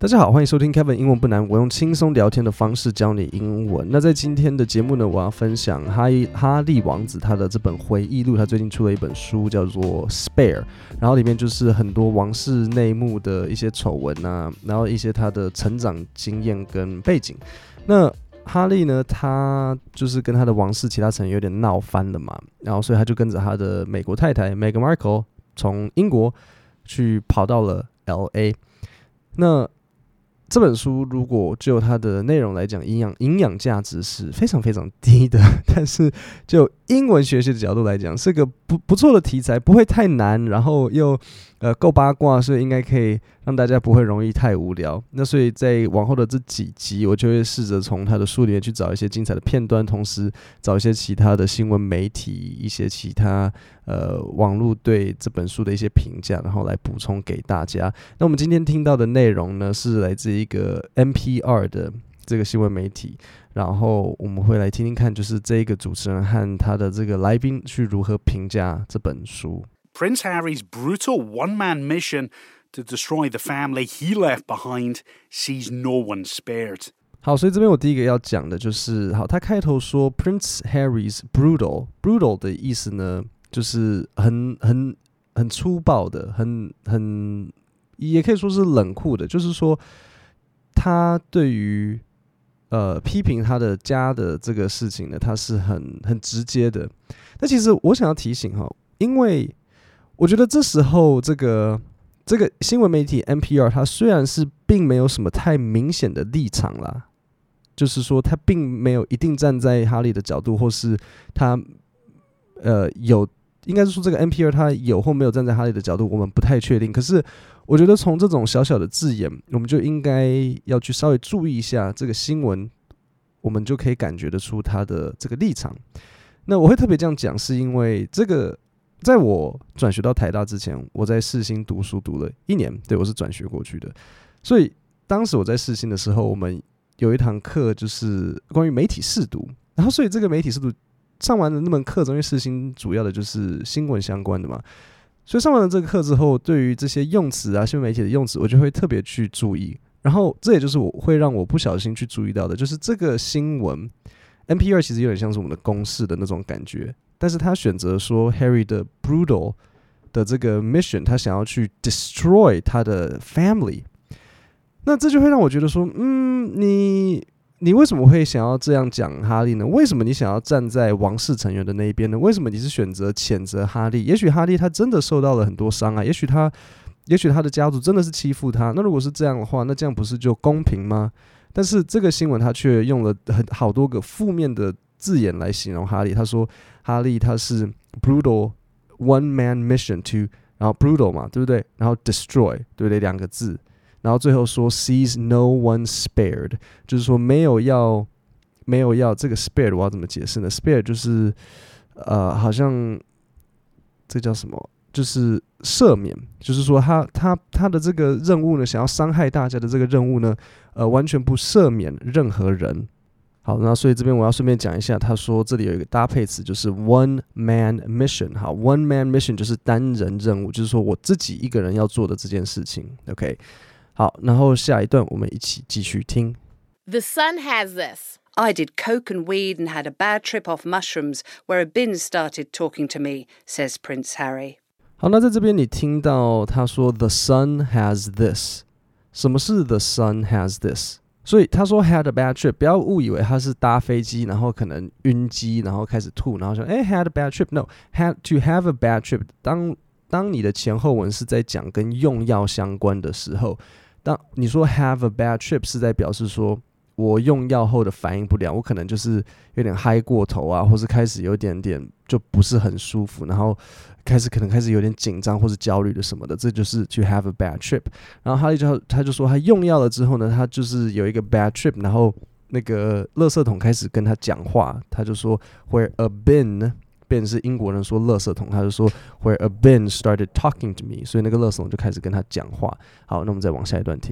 大家好，歡迎收聽 Kevin 英文不難，我用輕鬆聊天的方式教你英文。那在今天的節目呢，我要分享哈利王子他的這本回憶錄，他最近出了一本書叫做 Spare， 然後裡面就是很多王室內幕的一些醜聞啊，然後一些他的成長經驗跟背景。那哈利呢，他就是跟他的王室其他成員有點鬧翻了嘛，然後所以他就跟着他的美國太太 Meghan Markle 從英國去跑到了 LA。那這本書如果就它的內容來講，營養價值是非常非常低的，但是就英文學習的角度來講，是個不錯的題材，不會太難，然後又夠八卦，所以應該可以讓大家不會容易太無聊。那所以在往後的這幾集，我就會試着從他的書裡面去找一些精彩的片段，同時找一些其他的新聞媒體、一些其他網絡對這本書的一些評價，然後來補充給大家。那我們今天聽到的內容呢，是來自一個 NPR 的這個新聞媒體，然後我們會來聽聽看，就是這一個主持人和他的這個來賓去如何評價這本書。 Prince Harry's brutal one-man mission to destroy the family he left behind sees no one spared. 好，所以這邊我第一個要講的就是，好，他開頭說 Prince Harry's brutal 的意思呢，就是很粗暴的，很也可以說是冷酷的，就是說他對於批評他的家的這個事情呢，他是很直接的。但其實我想要提醒哈，因為我覺得這時候這個新聞媒體 NPR 它雖然是並沒有什麼太明顯的立場啦，就是說他並沒有一定站在哈利的角度，或是他有，應該是說這個 NPR 他有或沒有站在哈利的角度，我們不太確定。可是我覺得從這種小小的字眼，我們就應該要去稍微注意一下這個新聞，我們就可以感覺得出他的這個立場。那我會特別這樣講，是因為這個在我轉學到台大之前，我在世新讀書讀了1年，對，我是轉學過去的。所以當時我在世新的時候，我們有一堂課就是關於媒體識讀，然後所以這個媒體識讀上完了那門課，因為世新主要的就是新聞相關的嘛，所以上完了這個課之後，對於這些用詞啊，新聞媒體的用詞，我就會特別去注意。然後這也就是我會讓我不小心去注意到的，就是這個新聞 NPR 其實有點像是我們的公視的那種感覺。但是他選擇說 Harry 的 brutal 的這個 mission， 他想要去 destroy 他的 family， 那這就會讓我覺得說，你為什麼會想要這樣講哈利呢？為什麼你想要站在王室成員的那一邊呢？為什麼你是選擇譴責哈利？也許哈利他真的受到了很多傷害，也許他的家族真的是欺負他。那如果是這樣的話，那這樣不是就公平嗎？但是這個新聞他卻用了好多個負面的字眼來形容哈利。他說哈利他是 brutal one man mission to， 然後 brutal 嘛，对不對？然後 destroy， 對不對？2個字，然後最後說 sees no one spared， 就是說沒有要這個 spared， 我要怎麼解釋呢？ spared 就是好像這叫什麼？就是赦免，就是說他的這個任務呢，想要傷害大家的這個任務呢，完全不赦免任何人。好，那所以這邊我要順便講一下，他說這裡有一個搭配詞，就是 one man mission。好 ，one man mission 就是單人任務，就是說我自己一個人要做的這件事情。OK， 好，然後下一段我們一起繼續聽。 The Sun has this. I did coke and weed and had a bad trip off mushrooms where a bin started talking to me, says Prince Harry. 好，那在這邊你聽到他說 The Sun has this， 什麼是 The Sun has this？ 所以他說 had a bad trip， 不要誤以為他是搭飛機，然後可能暈機，然後開始吐，然後說had a bad trip。No， to have a bad trip。當你的前後文是在講跟用藥相關的時候，當你說 have a bad trip 是在表示說我用藥後的反應不良，我可能就是有點嗨過頭啊，或是開始有點就不是很舒服，然後可能開始有點緊張或是焦慮的什麼的，這就是 to have a bad trip。然後哈利他就說他用藥了之後呢，他就是有一個 bad trip， 然後那個垃圾桶開始跟他講話，他就說 where a bin 是英國人說垃圾桶，他就說 where a bin started talking to me， 所以那個垃圾桶就開始跟他講話。好，那我們再往下一段聽。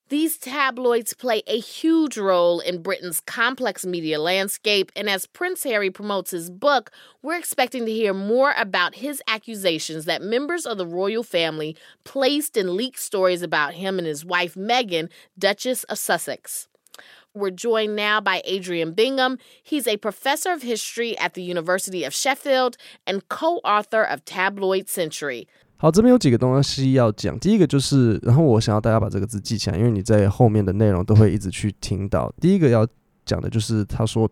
These tabloids play a huge role in Britain's complex media landscape, and as Prince Harry promotes his book, we're expecting to hear more about his accusations that members of the royal family placed and leaked stories about him and his wife Meghan, Duchess of Sussex. We're joined now by Adrian Bingham. He's a professor of history at the University of Sheffield and co-author of Tabloid Century. 好，这边有几個東西要講。第一個就是，然後我想要大家把這個字記起來，因為你在後面的內容都會一直去聽到。第一個要講的就是他說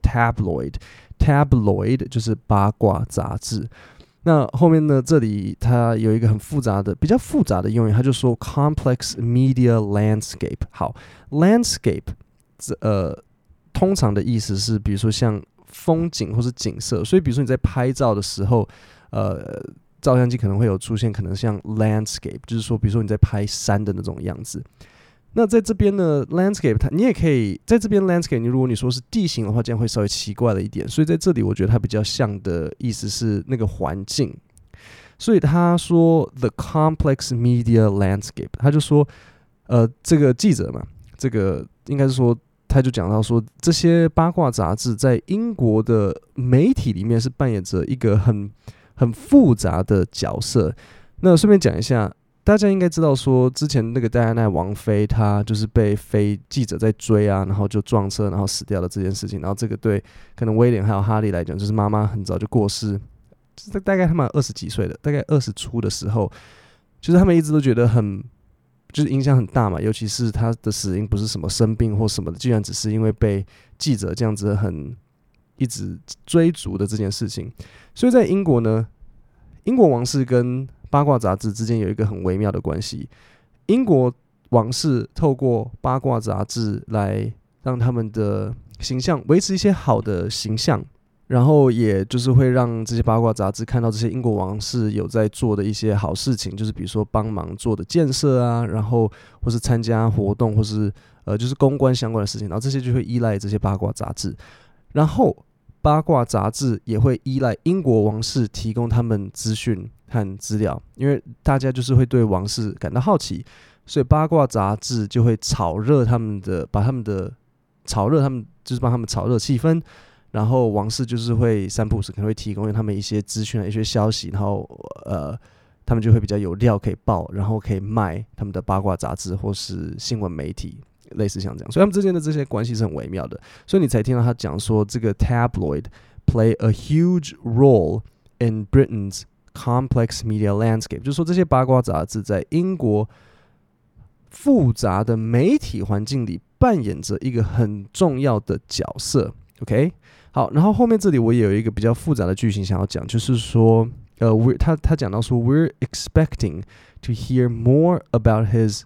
tabloid 就是八卦雜誌。那後面呢，這裡它有一個很複雜的、比較複雜的用語，他就說 complex media landscape。好 ，landscape 通常的意思是，比如說像風景或是景色，所以比如說你在拍照的時候，照相機可能會有出現，可能像 landscape， 就是說，比如說你在拍山的那種樣子。那在這邊呢 ，landscape， 你也可以在這邊 landscape， 如果你說是地形的話，這樣會稍微奇怪了一點。所以在這裡，我覺得它比較像的意思是那個環境。所以他說 the complex media landscape， 他就說，這個記者嘛，這個應該是說，他就講到說，這些八卦雜誌在英國的媒體裡面是扮演着一個很複雜的角色。那順便講一下，大家應該知道說，之前那個戴安娜王妃，她就是被記者在追啊，然後就撞車，然後死掉了這件事情。然後這個對可能威廉還有哈利來講，就是媽媽很早就過世，就是大概他們20幾歲的，大概20出的時候，就是他們一直都覺得就是影響很大嘛。尤其是他的死因不是什麼生病或什麼的，居然只是因為被記者這樣子一直追逐的這件事情。所以在英國呢，英國王室跟八卦雜誌之間有一個很微妙的關係。英國王室透過八卦雜誌來讓他們的形象維持一些好的形象，然後也就是會讓這些八卦雜誌看到這些英國王室有在做的一些好事情，就是比如說幫忙做的建設啊，然後或是參加活動，或是就是公關相關的事情，然後這些就會依賴這些八卦雜誌。然後八卦雜誌也會依賴英國王室提供他們資訊和資料，因為大家就是會對王室感到好奇，所以八卦雜誌就會炒熱他們，就是幫他們炒熱氣氛，然後王室就是會三不五時可能會提供他們一些資訊、一些消息，然後他們就會比較有料可以報，然後可以賣他們的八卦雜誌或是新聞媒體。類似像這樣，所以他們之間的這些關係是很微妙的，所以你才聽到他講說，這個 tabloid play a huge role in Britain's complex media landscape， 就是說這些八卦雜誌在英國複雜的媒體環境裡扮演着一個很重要的角色。OK， 好，然後後面這裡我也有一個比較複雜的句型想要講，就是說，他講到說 ，we're expecting to hear more about his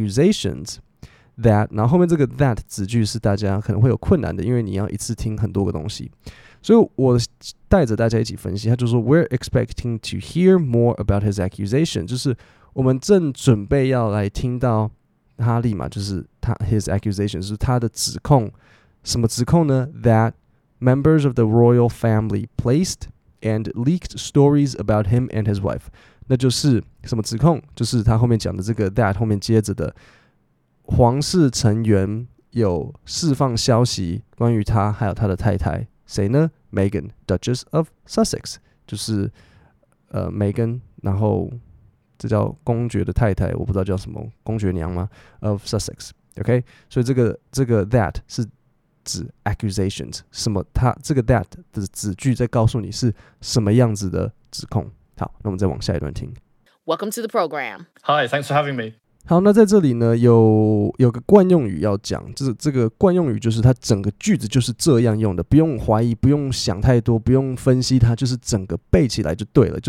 accusations。That， 然後後面這個 that 子句是大家可能會有困難的，因為你要一次聽很多個東西，所以我帶着大家一起分析。他就說 We're expecting to hear more about his accusation， 就是我們正準備要來聽到哈利嘛，就是his accusation 是他的指控。什麼指控呢？ That members of the royal family placed and leaked stories about him and his wife。那就是什麼指控？就是他後面講的這個 that 後面接着的。皇室成員有釋放消息關於他還有他的太太，誰呢？ Meghan Duchess of Sussex， 就是Meghan， 然後這叫公爵的太太，我不知道叫什麼，公爵娘嗎？ of Sussex，OK， 所以這個 that 是指 accusations， 什麼？它這個 that 的子句在告訴你是什麼樣子的指控。好，那我們再往下一段聽。 Welcome to the program. Hi, thanks for having me. 好，那在這裡呢，有個慣用語要講，就是這個慣用語就是它整個句子就是這樣用的，不用懷疑，不用想太多，不用分析它，就是整個背起來就對了，就是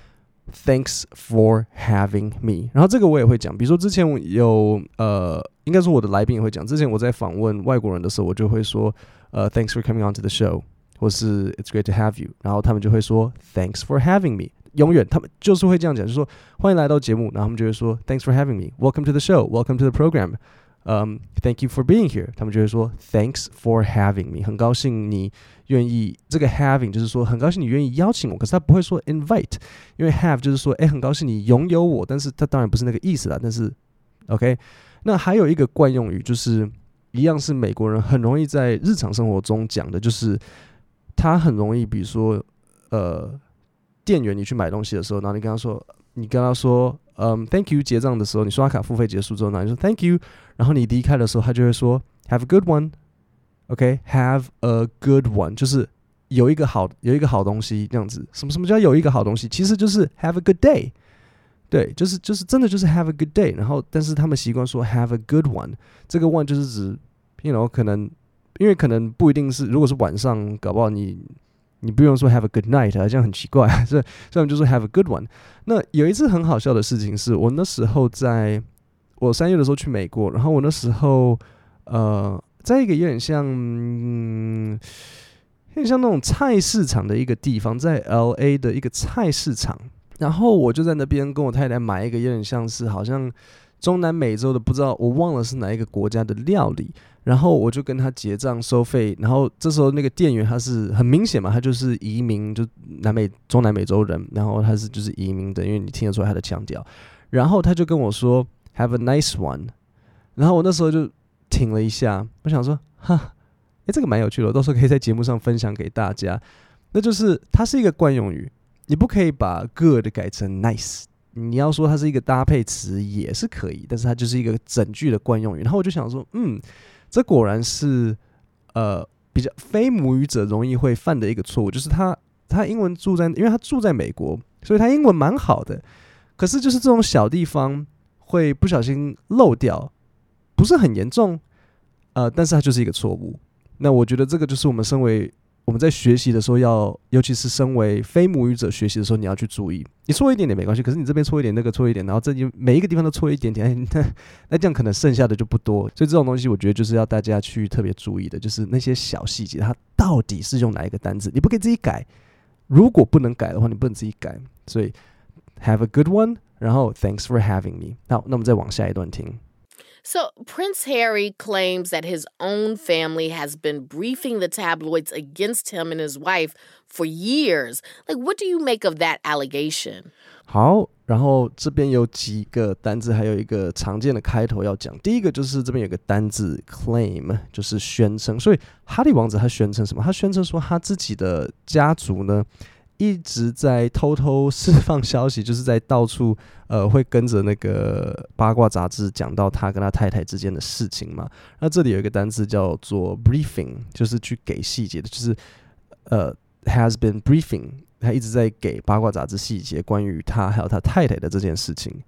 Thanks for having me。然後這個我也會講，比如說之前我有應該說我的來賓也會講，之前我在訪問外國人的時候，我就會說Thanks for coming on to the show， 或是 It's great to have you， 然後他們就會說 Thanks for having me。永遠他們就是會這樣講，就是說歡迎來到節目，然後他們就會說 Thanks for having me, Welcome to the show, Welcome to the program, Thank you for being here。他們就會說 Thanks for having me， 很高興你願意，這個 having 就是說很高興你願意邀請我，可是他不會說 invite， 因為 have 就是說很高興你擁有我，但是他當然不是那個意思啦，但是 OK， 那還有一個慣用語，就是一樣是美國人很容易在日常生活中講的，就是他很容易，比如說店員你去買東西的時候，然後你跟他說thank you 結賬的時候，你刷卡付費結束之後，然後你說 thank you， 然後你離開的時候，他就會說 have a good one。OK, have a good one， 就是有一個好東西這樣子。什麼叫有一個好東西？其實就是 have a good day。對，就是真的就是 have a good day。然後，但是他們習慣說 have a good one， 這個 one 就是指可能因為可能不一定是，如果是晚上，搞不好你不用說 have a good night， 這樣很奇怪，所以他們就說 have a good one。那有一次很好笑的事情是，我那時候我3月的時候去美國，然後我那時候在一個有點像那種菜市場的一個地方，在 LA 的一個菜市场，然後我就在那邊跟我太太買一個有點像是好像中南美洲的，不知道我忘了是哪一個國家的料理，然後我就跟他結賬收費，然後這時候那個店員他是很明顯嘛，他就是移民，就中南美洲人，然後他是就是移民的，因為你聽得出來他的腔調，然後他就跟我說 Have a nice one， 然後我那時候就停了一下，我想說，這個蠻有趣的，我到時候可以在節目上分享給大家。那就是它是一個慣用語，你不可以把 good 改成 nice， 你要說它是一個搭配詞也是可以，但是它就是一个整句的慣用語。然後我就想說，這果然是比較非母語者容易會犯的一個錯誤，就是他英文因為他住在美國，所以他英文蠻好的，可是就是這種小地方會不小心漏掉。不是很嚴重，但是它就是一個錯誤。那我覺得這個就是我們在學習的時候尤其是身為非母語者學習的時候，你要去注意。你錯一點點沒關係，可是你這邊錯一點，那個錯一點，然後每一個地方都錯一點點，那這樣可能剩下的就不多。所以這種東西，我覺得就是要大家去特別注意的，就是那些小細節，它到底是用哪一個單字，你不可以自己改。如果不能改的話，你不能自己改。所以 have a good one， 然後 thanks for having me。好，那我們再往下一段聽。 So, Prince Harry claims that his own family has been briefing the tabloids against him and his wife for years. Like, what do you make of that allegation? 好，然後這邊有幾個單字，還有一個常見的開頭要講。第一個就是這邊有個單字 claim， 就是宣稱。所以哈利王子他宣稱什麼？他宣稱說他自己的家族呢，一直在偷偷釋放消息，就是在到處會跟着那個八卦雜誌講到他跟他太太之間的事情嘛。那這裡有一個單字叫做 briefing， 就是去給細節的，就是has been briefing， 他一直在給八卦雜誌細節關於他還有他太太的這件事情。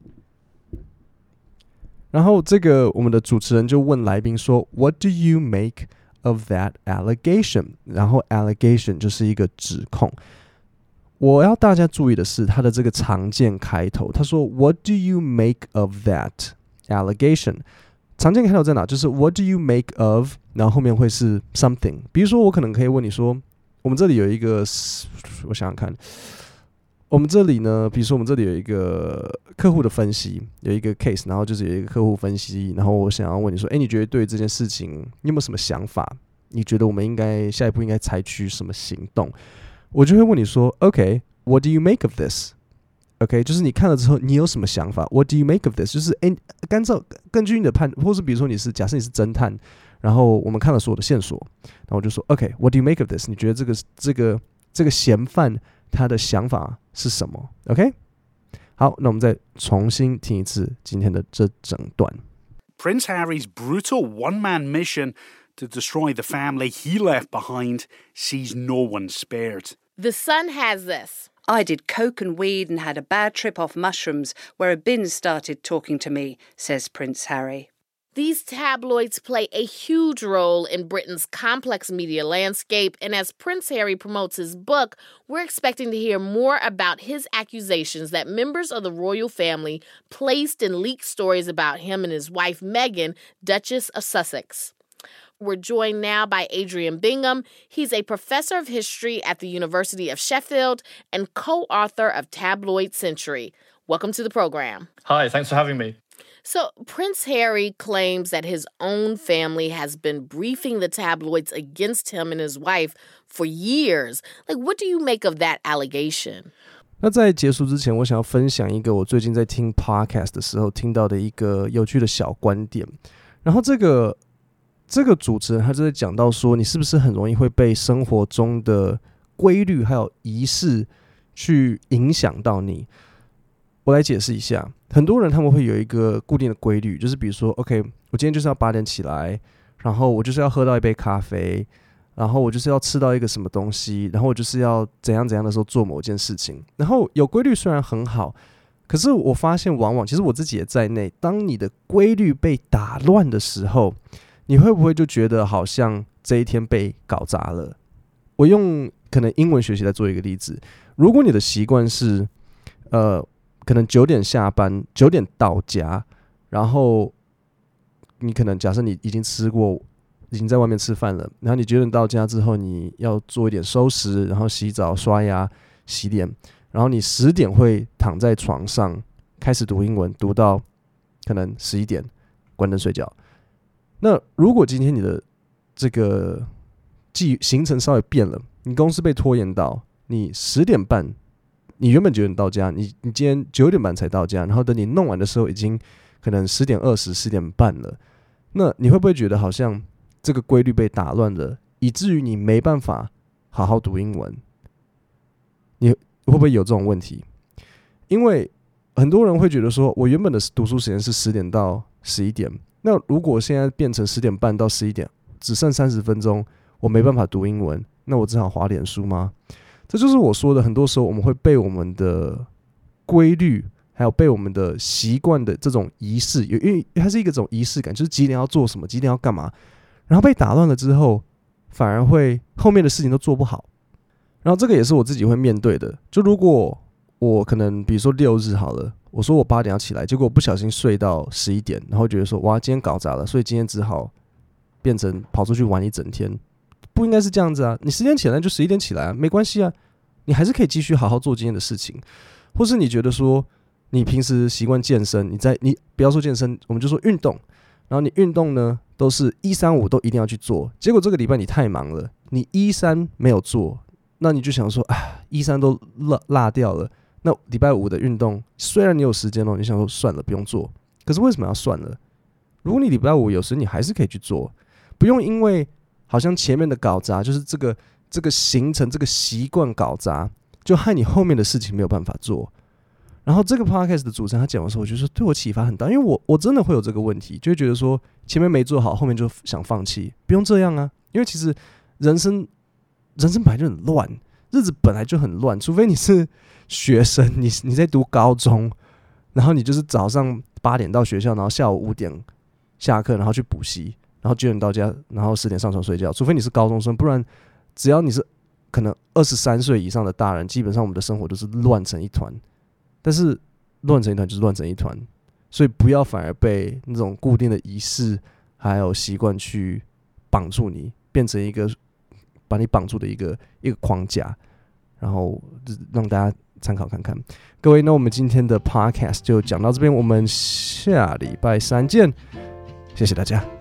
然後這個我們的主持人就問來賓說 What do you make of that allegation？ 然後 allegation 就是一個指控。我要大家注意的是他的這個常見開頭，他說 What do you make of that allegation？ 常見開頭在哪？就是 What do you make of， 然後後面會是 something。比如說我可能可以問你說，我們這裡有一個，我想想看，我們這裡呢，比如說我們這裡有一個客戶的分析，有一個 case， 然後就是有一個客戶分析，然後我想要問你說，你覺得對這件事情你有沒有什麼想法？你覺得我們下一步應該採取什麼行動？我就會問你說 OK, what do you make of this? OK, 就是你看了之後你有什麼想法？ What do you make of this? 就是根據你的判，或是比如說假設你是偵探，然後我們看了所有的線索，然後我就說 OK, what do you make of this? 你覺得這個嫌犯他的想法是什麼 ？OK， 好，那我們再重新聽一次今天的這整段。 Prince Harry's brutal one-man mission to destroy the family he left behind sees no one spared. The Sun has this. I did coke and weed and had a bad trip off mushrooms where a bin started talking to me, says Prince Harry. These tabloids play a huge role in Britain's complex media landscape, and as Prince Harry promotes his book, we're expecting to hear more about his accusations that members of the royal family placed and leaked stories about him and his wife Meghan, Duchess of Sussex. We're joined now by Adrian Bingham. He's a professor of history at the University of Sheffield and co-author of Tabloid Century. Welcome to the program. Hi, thanks for having me. So, Prince Harry claims that his own family has been briefing the tabloids against him and his wife for years. Like, what do you make of that allegation? 那在結束之前，我想要分享一個我最近在聽 podcast 的時候聽到的一個有趣的小觀點。然後這個主持人他就在講到說，你是不是很容易會被生活中的規律還有儀式去影響到你？我來解釋一下，很多人他們會有一個固定的規律，就是比如說 OK， 我今天就是要8點起來，然後我就是要喝到一杯咖啡，然後我就是要吃到一個什麼東西，然後我就是要怎樣的時候做某件事情。然後有規律雖然很好，可是我發現往往其實我自己也在內，當你的規律被打亂的時候，你會不會就覺得好像這一天被搞砸了？我用可能英文學習來做一個例子，如果你的習慣是可能9點下班，9點到家，然後你可能假設你已經吃過，已經在外面吃飯了，然後你9點到家之後，你要做一點收拾，然後洗澡、刷牙、洗臉，然後你10點會躺在床上開始讀英文，讀到可能11點，關燈睡覺。那如果今天你的這個行程稍微變了，你公司被拖延到，你10點半。你原本9點到家，你今天9點半才到家，然後等你弄完的時候，已經可能10點20、10點半了。那你會不會覺得好像這個規律被打亂了，以至於你沒辦法好好讀英文？你會不會有這種問題？因為很多人會覺得說，我原本的讀書時間是10點到11點，那如果現在變成10點半到11點，只剩30分鐘，我沒辦法讀英文，那我只好滑臉書嗎？這就是我說的，很多時候我們會被我們的規律，還有被我們的習慣的這種儀式，因為它是一個種儀式感，就是幾點要做什麼，幾點要幹嘛，然後被打亂了之後，反而會後面的事情都做不好。然後這個也是我自己會面對的。就如果我可能比如說6日好了，我說我8點要起來，結果我不小心睡到11點，然後覺得說哇，今天搞砸了，所以今天只好變成跑出去玩一整天。不應該是這樣子啊！你10點起來就11點起來啊，沒關係啊，你還是可以繼續好好做今天的事情。或是你覺得說，你平時習慣健身，你不要說健身，我們就說運動。然後你運動呢，都是1、3、5都一定要去做。結果這個禮拜你太忙了，你1、3沒有做，那你就想說啊，1、3都落掉了。那禮拜5的運動，雖然你有時間哦，你想說算了，不用做。可是為什麼要算了？如果你禮拜5有時你還是可以去做，不用因為好像前面的搞砸，就是這個行程、這個習慣搞砸，就害你後面的事情沒有辦法做。然後這個 podcast 的主持人他講的時候，我覺得對我啟發很大，因為我真的會有這個問題，就會覺得說前面沒做好，後面就想放棄。不用這樣啊，因為其實人生本來就很亂，日子本來就很亂，除非你是學生，你在讀高中，然後你就是早上8點到學校，然後下午5點下課，然後去補習。然後9點到家，然後10點上床睡覺。除非你是高中生，不然只要你是可能23歲以上的大人，基本上我們的生活都是亂成一團。但是亂成一團就是亂成一团，所以不要反而被那種固定的儀式還有習慣去綁住你，變成一個把你綁住的一個框架，然後讓大家參考看看。各位，那我們今天的 podcast 就講到這邊，我們下禮拜3見，謝謝大家。